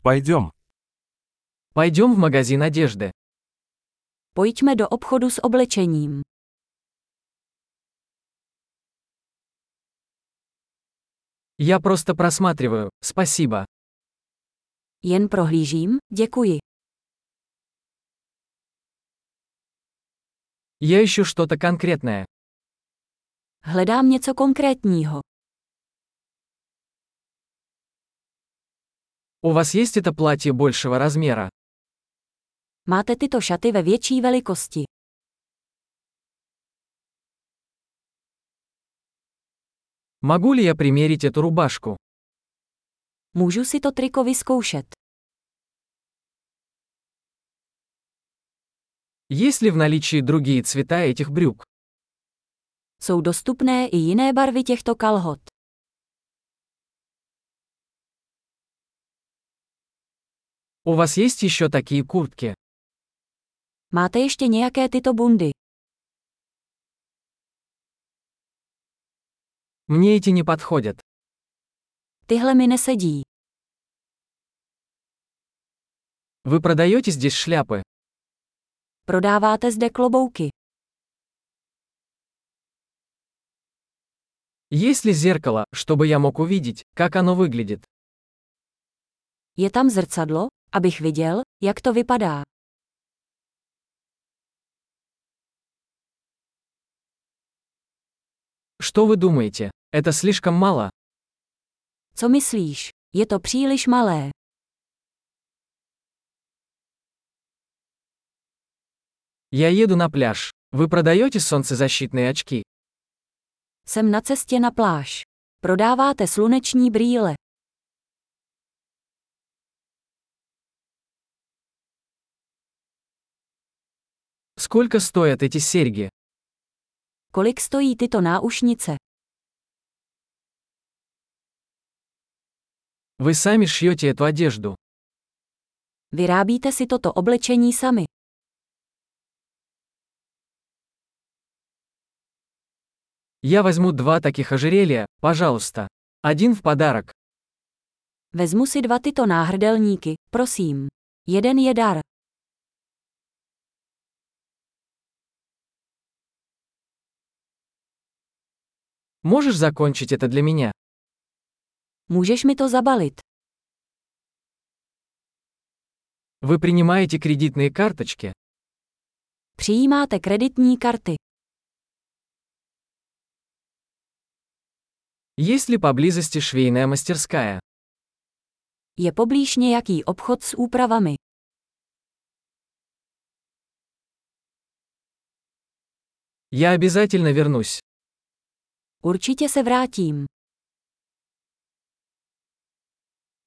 Пойдем. Пойдем в магазин одежды. Pojďme do obchodu s oblečením. Я просто просматриваю, спасибо. Jen prohlížím, děkuji. Я ищу что-то конкретное. Hledám něco konkrétního. У вас есть это платье большего размера? Máte tyto šaty ve větší velikosti. Могу ли я примерить эту рубашку? Můžu si to triko vyzkoušet. Есть ли в наличии другие цвета этих брюк? Jsou dostupné i jiné barvy těchto kalhot. У вас есть еще такие куртки? Máte ještě nějaké tyto bundy? Мне эти не подходят. Tyhle mi nesedí. Вы продаете здесь шляпы? Prodáváte zde klobouky. Есть ли зеркало, чтобы я мог увидеть, как оно выглядит? Je tam zrcadlo, abych viděl, jak to vypadá. Что вы думаете? Это слишком мало? Co myslíš? Je to příliš malé. Я еду на пляж. Вы продаете солнцезащитные очки? Jsem na cestě na pláž. Prodáváte sluneční brýle. Сколько стоят эти серьги? Kolik stojí tyto náušnice? Вы сами шьете эту одежду. Vyrábíte si toto oblečení sami. Я возьму 2 таких ожерелья, пожалуйста. Один в подарок. Vezmu si 2 tyto náhrdelníky, prosím. Jeden je dar. Можешь закончить это для меня? Můžeš mi to zabalit? Вы принимаете кредитные карточки? Přijímáte kreditní karty. Есть ли поблизости швейная мастерская? Je poblíž nějaký obchod s úpravami. Я обязательно вернусь. Určitě se vrátím.